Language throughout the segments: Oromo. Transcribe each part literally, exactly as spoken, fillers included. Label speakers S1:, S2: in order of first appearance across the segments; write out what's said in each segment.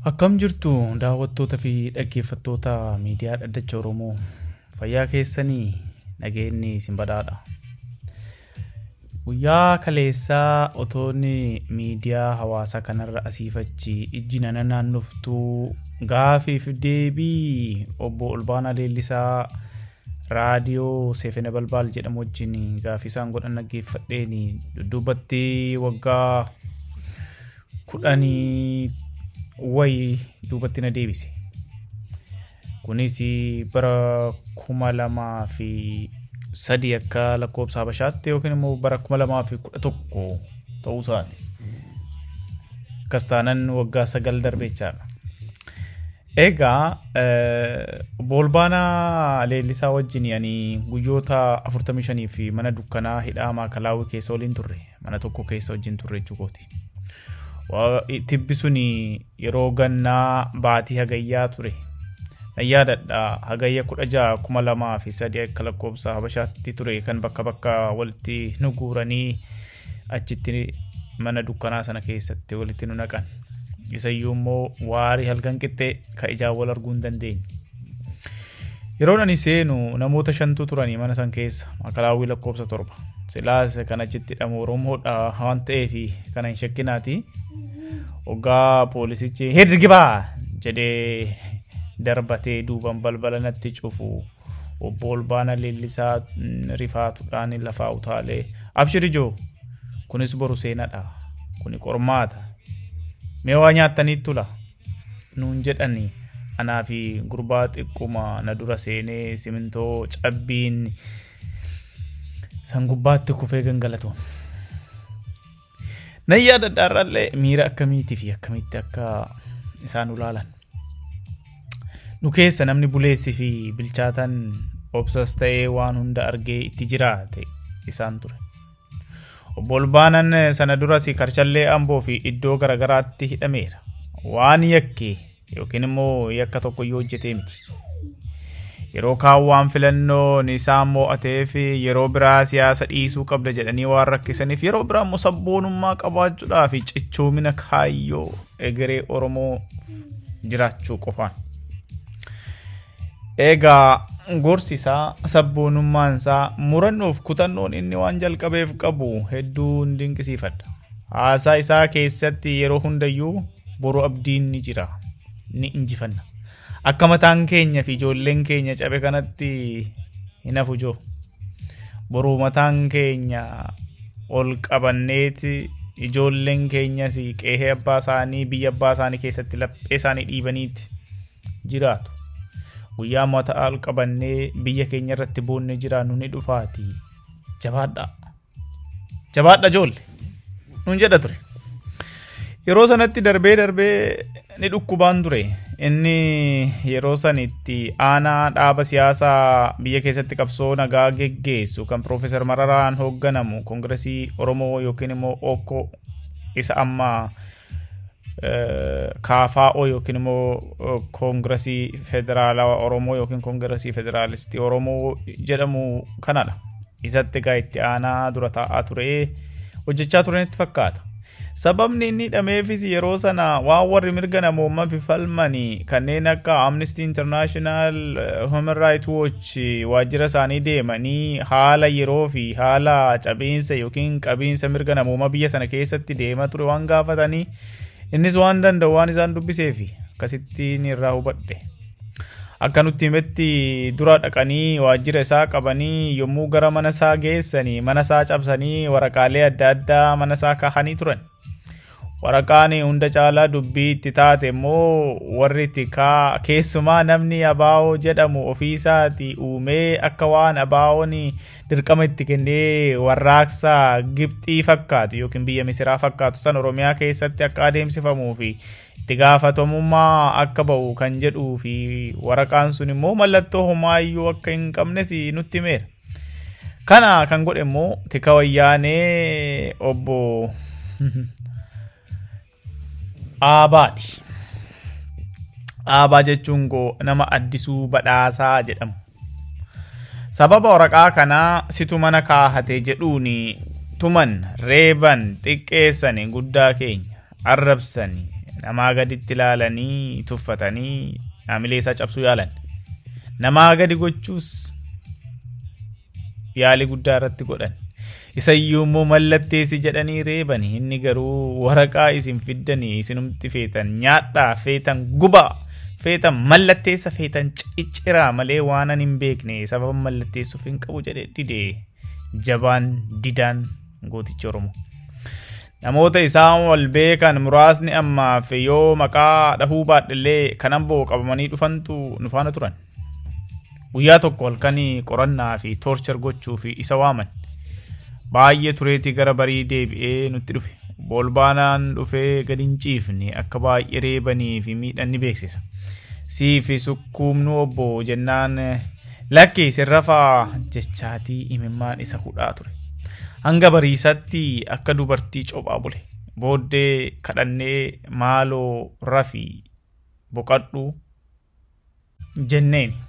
S1: Akkam jirtu daawwattoota fi dhaggeeffattoota miidiyaa Dhaddacha Oromoo. Fayyaa keessanii nageenyi isin badhaadha. Guyyaa kaleessaa otoonni miidiyaa hawaasaa kanarra asiifachi ijji nana naannoftuu gaafiif deebii obbo Olbaanaa Leellisaa raadiyoo Seefene Balbaal jedhamu wajjin gaafii isaan godhan dhaggeeffadheeni dudduubatti waggaa kudhanii wayi duubatti na deebise. Kunis bara kuma lamaa fi sadii akka lakkoofsa Habashaatti yookiin immoo bara kuma lamaa fi kudha tokko ta'uu isaati. Kastaanan waggaa sagal darbeechaadha. Egaa obbo Olbaanaa Leellisaa wajjin ani guyyoota afurtamii shanii fi mana dukkanaa hidhaa Maakalaawii keessa waliin turre, mana tokko keessa wajjin turre jechuukooti. Tibbi suni yeroo gannaa baatii hagayyaa ture. Nayyaadadha hagayya kudha ja'a kuma lamaa fi sadii akka lakkoofsa Habashaatti ture kan bakka bakka walitti nu guuranii achitti mana dukkanaa sana keessatti walitti nu naqan. Isayyuu immoo waarii halkan qixxee ka ijaan wal arguu hin dandeenye. Yeroon ani seenu namoota shantu turanii mana san keessa Maakalaawii lakkoofsa torba. Silaas kan achitti hidhamu Oromoodha waan ta'eef kana hin shakkinaati. Ogaa poolisichi hirgibaa jedhee darbatee duuban balbala natti cufu obbo Olbaanaa Leellisaa rifaatuudhaan lafaa utaalee abshiri joo kunis boru seenadha kuni qormaata mee waa nyaattanii tula nuun jedhani anaa fi gurbaa xiqquma na dura seenee simintoo cabbiin san gubbaatti kufee gangalatoon. Nayyaada darralle miira akkamiitii fi akkamitti akka isaan ulaalan. Nu keessa namni buleessi fi bilchaatan obsas ta'ee waan hunda argee itti jiraate isaan ture. Obbo Olbaanaan sana duras Karchallee Amboo fi iddoo garagaraatti hidhameera. Waan yakkee yookiin immoo yakka tokko yoo hojjetee miti. Yeroo kaawwaan filannoon isaan mo'atee fi yeroo biraa siyaasa dhiisuu qabda jedhanii waan rakkisaniif yeroo biraa immoo sabboonummaa qabaachuudhaa fi cichoomina kaayyoo egeree Oromoo jiraachuu qofaan. Egaa gorsi isaa sabboonummaan isaa murannoof kutannoon inni waan jalqabeef qabu hedduu dinqisiifadha. Haasaa isaa keessatti yeroo hundayyuu boru abdiin ni jira, ni injifanna. Akka mataan keenya fi ijoolleen keenya cabe kanatti hin hafu joo. Boru mataan keenya ol qabanneeti ijoolleen keenyas qe'ee abbaa isaanii biyya abbaa isaanii keessatti laphee isaanii dhiibaniiti jiraatu. Guyyaa mataa ol qabannee biyya keenya irratti boonne jiraannu ni dhufaati. Jabaadha. Jabaadha joolle. Nuun jedha ture. Yeroo sanatti darbee darbee ni dhukkubaan ture. Inni yeroo sanitti aanaa dhaaba siyaasaa biyya keessatti qabsoo nagaa geggeessu kan Profeesar Mararaan hoogganamu Koongiresii Oromoo yookiin immoo Okko isa amma Kaafaa'oo yookiin immoo Koongiresii Federaalawaa Oromoo yookiin Koongiresii Federaalistii Oromoo jedhamu kanadha. Isatti egaa itti aanaa dura taa'aa ture hojjechaa turanitti fakkaata. Sababni inni hidhameefis yeroo sana waan warri mirga namoomaa fi falmanii kanneen akka Amnesty International, Human Rights Watch waajjira isaanii deemanii haala yeroo fi haala cabiinsa yookiin qabiinsa mirga namoomaa biyya sana keessatti deemaa ture waan gaafatanii innis waan danda'u waan isaan dubbiseefi akkasittiin irraa hubadhe. Akka nutti himetti dura dhaqanii waajjira isaa qabanii yommuu gara mana isaa geessanii mana isaa cabsanii waraqaalee adda addaa mana isaa kaahanii turan. Waraqaan hunda caalaa dubbii itti taate immoo warri tikaa keessumaa namni Abaawoo jedhamu ofiisaati uumee akka waan Abaawoon dirqama itti kennee warraaqsa Gibxii fakkaatu yookiin biyya Misiraa fakkaatu san Oromiyaa keessatti akka adeemsifamuu fi itti gaafatamummaa akka ba'u kan jedhuu fi waraqaan sun immoo mallattoo homaayyuu akka hin qabnes nutti himeera. Kana kan godhe immoo tika wayyaanee obbo Aabaati. Aabaa jechuun nama Addisuu Badhaasaa jedhamu. Sababa waraqaa kanaa situ mana kaahate jedhuuni tuman reeban xiqqeessanii guddaa keenya arrabsanii namaa gaditti ilaalanii tuffatanii haamilee isaa cabsuu yaalan. Namaa gadi gochuus yaali guddaa irratti godhan. Isayyuu immoo mallatteessi jedhanii reebanii inni garuu waraqaa isin fiddanii isinumti feetan nyaadhaa feetan gubaa feetan mallatteessa feetan cicciraa malee waan an hin beekne sababa mallatteessuuf hin qabu jedhe didee jabaan didaan gooticha Oromoo. Namoota isaan wal beekan muraasni ammaaf yoo maqaa dhahuu baadhillee kanan boo qabamanii dhufantu nu faana turan. Guyyaa tokko halkanii qorannaa fi torchar gochuu fi isa waaman. Baay'ee tureetii gara barii deebi'ee nutti dhufe. Bolbaanaan dhufee gadi hin ciifne akka baay'ee reebanii fi miidhan ni beeksisa. Sii fi sukkuumnu obbo jennaan lakki sirrafaa jechaatii imimmaan isa hudhaa ture. Hanga bariisatti akka dubartii cophaa bule. Booddee kadhannee maaloo rafii boqadhu jenneen.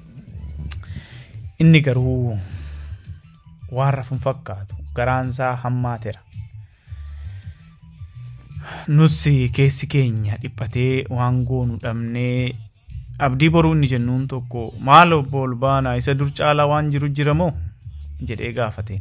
S1: Inni garuu waan rafuun fakkaatu garaansaa hammaateera. Nusi keessi keenya dhiphatee waan goonu dhabnee abdii boruu inni jennuun tokko maal obbo Olbaanaa isa dur caalaa waan jiru jiramoo jedhee gaafateen.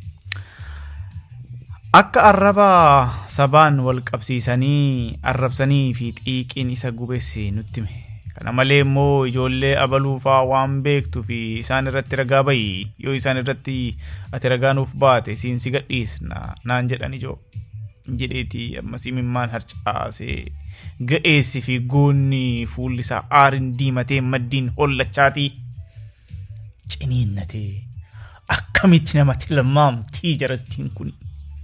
S1: Akka arraba sabaan wal qabsiisanii arrabsanii fi xiiqiin isa gubesse nutti hime. Kana malee immoo ijoollee abaluufaa waan beektu fi isaan irratti ragaa bayi yoo isaan irratti ati ragaa nuuf baate siin si gadhiisna naan jedhan ijoo jedheetii ammas imimmaan harcaasee ga'eessi fi goonni fuulli isaa aarin diimatee maddiin hollachaatii ciniinnatee akkamitti nama tilmaamtii jarattiin kun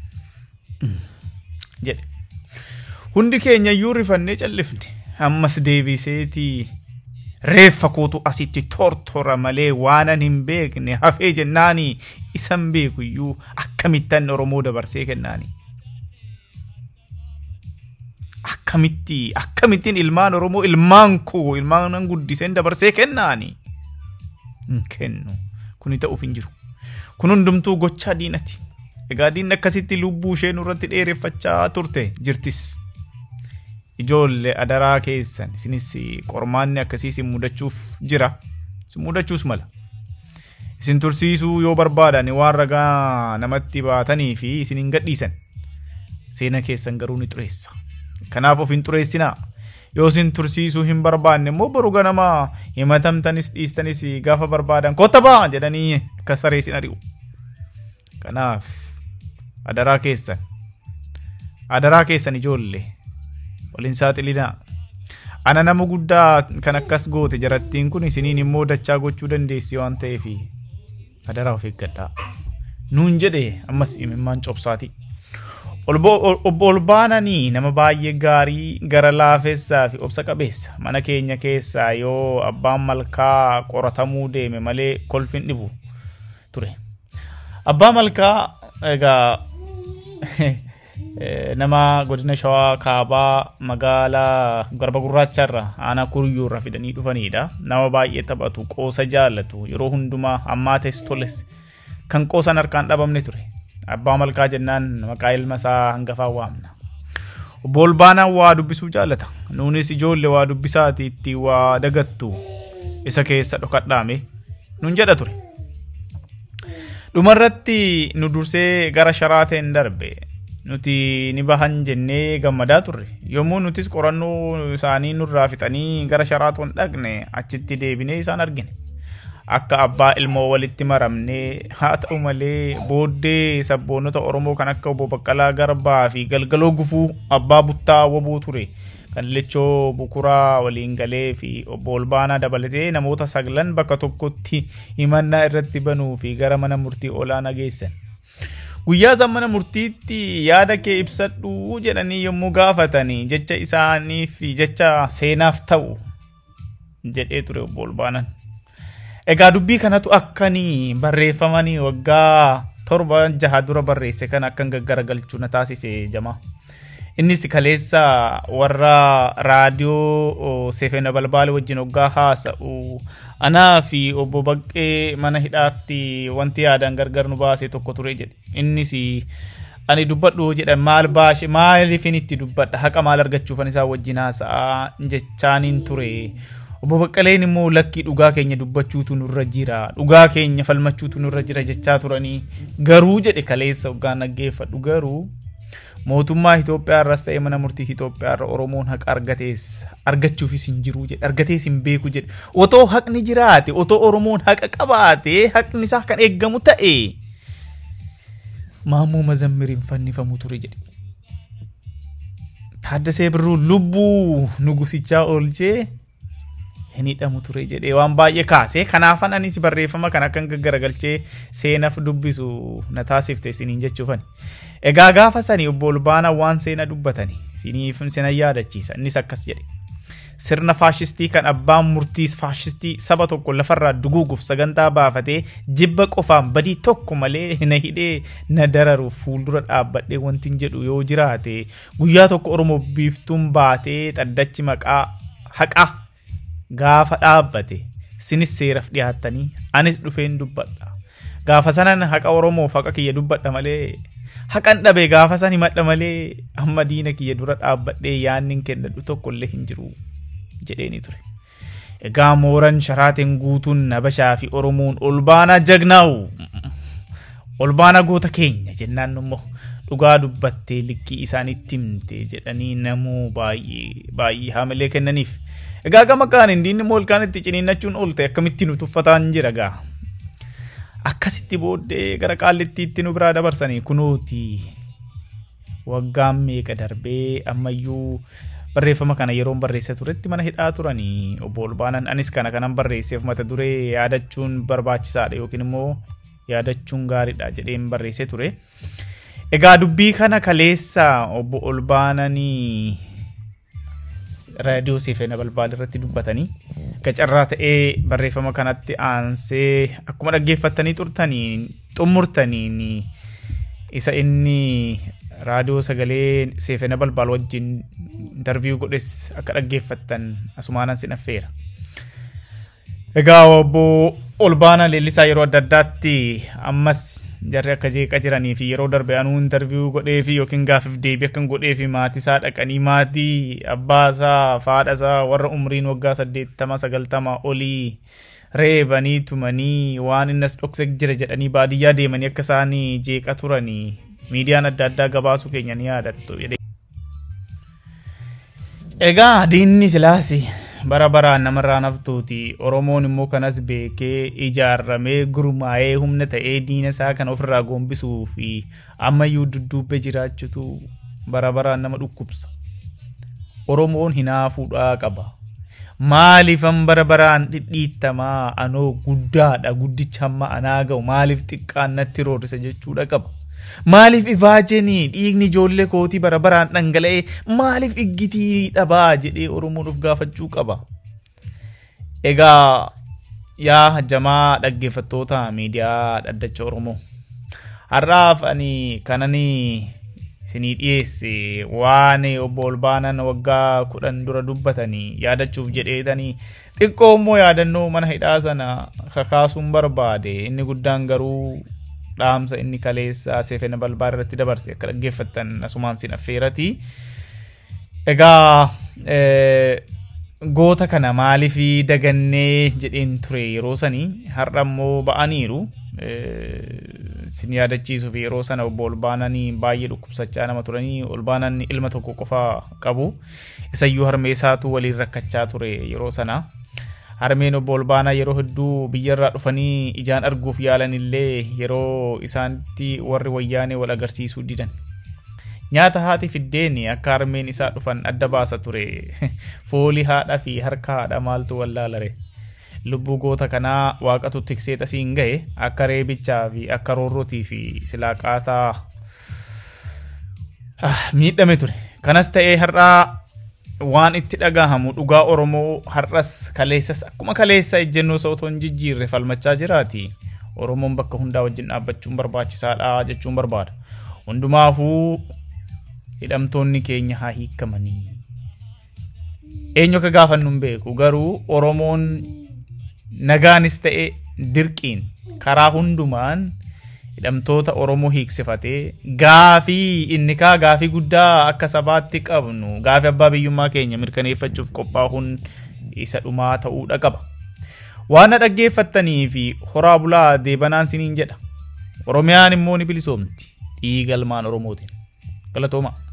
S1: jedhe. Hundi keenya iyyuu rifannee callifne. Ammas deebiseetii reeffa kootu asitti tortora malee waanan hin beekne hafee jennaanii isan beeku iyyuu akkamittan Oromoo dabarsee kennaanii. Akkamitti akkamittiin ilmaan Oromoo ilmaan koo ilmaan guddiseen dabarsee kennaanii. Hin kennu. Kuni ta'uuf hin jiru. Kun hundumtuu gochaa diinati. Egaa diinni akkasitti lubbuu ishee nurratti dheereffachaa turte jirtis. Ijoollee adaraa keessan isinis qormaanni akkasii isin mudachuuf jira. Isin mudachuus mala. Isin tursiisuu yoo barbaadan waan ragaa namatti baatanii fi isin hin gadhiisan. Seena keessan garuu ni xureessa. Kanaaf of hin xureessinaa. Yoo isin tursiisuu hin barbaanne immoo boru ganama himatamtanis dhiistanis gaafa barbaadan kotta baa jedhanii akka saree isin ari'u. Kanaaf adaraa keessan adaraa keessan ijoollee waliin saaxilinaa. Ana nama guddaa kan akkas goote jarattiin kun isiniin immoo dachaa gochuu dandeessi waan ta'eef adaraa of eeggadhaa nuun jedhe ammas imimmaan cobsaati. Obbo Olbaananii nama baay'ee gaarii gara laafessaa fi obsa qabeessa. Mana keenya keessaa yoo abbaan malkaa qoratamuu deeme malee kolfin dhibu ture. Abbaa malkaa egaa nama godina Shawaa Kaabaa magaalaa Garba Gurraacharra aanaa Kuruyyuurra fidanii dhufanidha. Nama baay'ee taphatu, qoosa jaallatu, yeroo hundumaa hammaates toles kan qoosan harkaan dhabamne ture. Abbaa malkaa jennaan maqaa ilma isaa hangafaa waamna. Obbo Olbaanaan waa dubbisuu jaallata. Nuunis ijoollee waa dubbisaati itti waa dagattu isa keessa dhokadhaame nuun jedha ture. Dhumarratti nu dursee gara Sharaateen darbe. Nuti ni bahan jennee gammadaa turre. Yommuu nutis qorannoo isaanii nurraa fixanii gara Sharaatoon dhaqne achitti deebinee isaan argine. Akka abbaa ilmoo walitti maramnee haa ta'u malee booddee sabboonota Oromoo kan akka Obbo Baqqalaa Garbaa fi Galgaloo Gufuu abbaa buttaa wabuu ture kan Lechoo Bukuraa waliin galee fi Obbo Olbaanaa dabalatee namoota saglan bakka tokkotti himannaa irratti banuu fi gara mana murtii olaanaa geessan. Guyyaa san mana murtiitti yaada kee ibsadhu jedhanii yommuu gaafatanii jecha isaanii fi jecha seenaaf ta'u jedhee ture Obbo Olbaanaan. Egaa dubbii kanatu akkanii barreeffamanii waggaa torba jaha dura barreesse kan akkan gaggaragalchuu na taasise jama. Innis kaleessa warra raadiyoo Seefena Balbaale wajjin waggaa haasa'u anaa fi Obbo Baqqee mana hidhaatti wanti yaadaan gargar nu baase tokko ture jedhe. Innis ani dubbadhu jedhan maal baash maaliifin itti dubbadha haqa maal argachuufan isaa wajjin haasa'a jechaaniin ture. Obbo Baqqaleen immoo lakkii dhugaa keenya dubbachuutu nurra jira dhugaa keenya falmachuutu nurra jira jechaa turanii garuu jedhe kaleessa hoggaan dhaggeeffadhu garuu mootummaa Itoophiyaa irraas ta'e mana murtii Itoophiyaa irra Oromoon haqa argatees argachuufis hin jiru jedhe argatees hin beeku jedhe otoo haqni jiraate otoo Oromoon haqa qabaate haqni isaa kan eeggamu ta'e Maammoo Mazammiriin fannifamu ture jedhe. Taaddasee Birruu lubbuu nugusichaa oolchee hin hidhamu ture jedhee waan baay'ee kaasee kanaafan anis barreeffama kan akkan gaggaragalchee seenaaf dubbisu na taasifte isiniin jechuufani. Egaa gaafa sanii obbo Olbaanaa waan seena dubbatanii isiniif seena yaadachiisa innis akkas jedhe. Sirna faashistii kan abbaan murtiis faashistii saba tokko lafarraa duguuguuf sagantaa baafatee jibba qofaan badii tokko malee na hidhee na dararuuf fuuldura dhaabbadhee wanti hin jedhu yoo jiraate guyyaa tokko Oromoo biiftuun baatee xaddachi maqaa haqaa gaafa dhaabbate sinis seeraaf dhiyaattanii anis dhufeen dubbadha. Gaafa sanan haqa Oromoof haqa kiyya dubbadha malee haqan dhabe gaafa san himadha malee amma diina kiyya dura dhaabbadhee yaannin kennadhu tokkollee hin jiru jedheeni ture. Egaa mooran sharaatiin guutuun Habashaa fi Oromoon Olbaanaa jagnaa'u Olbaanaa goota keenya jennaan immoo dhugaa dubbattee likkii isaanitti himte jedhanii namuu baay'ee baay'ee haamilee kennaniif. Egaa gama kaan indiin immoo ilkaan itti ciniinnachuun oolte akkamitti nu tuffataan jira gaa. Akkasitti booddee gara qaallittiitti nu biraa dabarsanii kunooti waggaan meeqa darbee ammayyuu barreeffama kana yeroon barreessa turetti mana hidhaa turanii obbo Olbaanaan anis kana kanan barreesseef mata duree yaadachuun barbaachisaadha yookiin immoo yaadachuun gaariidha jedheen barreessee ture. Egaa dubbii kana kaleessa obbo Olbaananii raadiyoo Sefena Balbaal irratti dubbatanii gacarraa ta'ee barreeffama kanatti aansee akkuma dhaggeeffattanii turtanii xumurtanii isa inni raadiyoo sagalee Sefena Balbaal wajjin interview godhes akka dhaggeeffattan asumaanan sin affeera. Egaa obbo Olbaanaa Leellisaa yeroo adda addaatti ammas jarri akka jeeqa jiranii fi yeroo darbe anuu interview godhee fi yookiin gaafiif deebii akkan godhee fi maatii isaa dhaqanii maatii abbaa isaa faadha isaa warra umriin waggaa saddeettama sagaltama olii reebanii tumanii waan innas dhokse jira jedhanii baadiyyaa deemanii akka isaanii jeeqa turanii miidiyaan adda addaa gabaasuu keenya ni yaadattu. Egaa diinni silaasi bara baraan namarraa naftuuti Oromoon immoo kanas beekee ijaarramee gurmaa'ee humna ta'ee diina isaa kan ofirraa gombisuu fi ammayyuu dudduubbee jiraachutu bara baraan nama dhukkubsa. Oromoon hinaafuudhaa qaba. Maaliifan bara baraan dhidhiittamaa anoo guddaadha guddicha hamma anaa ga'u maaliif xiqqaan natti roorrisa jechuudha qaba. Maaliif ifaajanii dhiigni ijoollee kootii bara baraan dhangala'ee maaliif iggitii dhabaa jedhee Oromoon of gaafachuu qaba. Egaa yaa jamaa dhaggeeffattoota miidiyaa dhaddacha Oromoo har'aaf ani kananii isinii dhiyeesse waan obbo Olbaanaan waggaa kudhan dura dubbatanii yaadachuuf jedheetanii xiqqoo immoo yaadannoo mana hidhaa sana kakaasuun barbaade inni guddaan garuu dhaamsa inni kaleessa Sefena Balbaal irratti dabarse akka dhaggeeffattan asumaan sin affeerati. Egaa goota kana maaliif dagannee jedheen ture yeroo sanii har'a immoo ba'aniiru sin yaadachiisuuf yeroo sana obbo Olbaanaan baay'ee dhukkubsachaa nama turanii Olbaanaan ilma tokko qofa qabu isayyuu harmeessaatu waliin rakkachaa ture yeroo sana. Harmeen obbo Olbaanaa yeroo hedduu biyyarraa dhufanii ijaan arguuf yaalan illee yeroo isaanitti warri wayyaanee wal agarsiisuu didan. Nyaata haati fiddeen akka harmeen isaa dhufan adda baasa ture. Foolii haadha fi harka haadha maaltu wallaalare. Lubbuu goota kanaa waaqatu tiksee tasiin gahe akka reebichaa fi akka roorrotii fi silaaqaataa miidhame ture. Kanas ta'ee har'aa waan itti dhagahamu dhugaa Oromoo har'as kaleessas akkuma kaleessa ejjennoo sa'otoon jijjiirre falmachaa jiraati. Oromoon bakka hundaa wajjin dhaabbachuun barbaachisaadha jechuun barbaada. Hundumaafuu hidhamtoonni keenya haa hiikamanii. Eenyu akka gaafannu hin beeku garuu Oromoon nagaanis ta'e dirqiin karaa hundumaan hidhamtoota Oromoo hiiksifatee gaafii inni kaa gaafii guddaa akka sabaatti qabnu gaafii abbaa biyyummaa keenya mirkaneeffachuuf qophaa'uun isa dhumaa ta'uudha qaba. Waan dhaggeeffattanii fi horaa bulaa deebanaan siniin jedha. Oromiyaan immoo ni bilisoomti dhiiga ilmaan Oromootiin. Galatooma.